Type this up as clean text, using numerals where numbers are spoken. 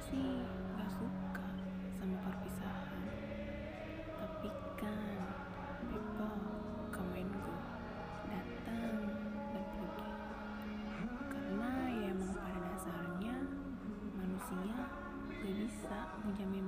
sih gak suka sama perpisahan. Tapi kan people come and go, datang dan pergi. Karena ya emang pada dasarnya manusia gak bisa menjamin